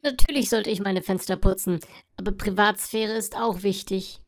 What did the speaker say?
Natürlich sollte ich meine Fenster putzen, aber Privatsphäre ist auch wichtig.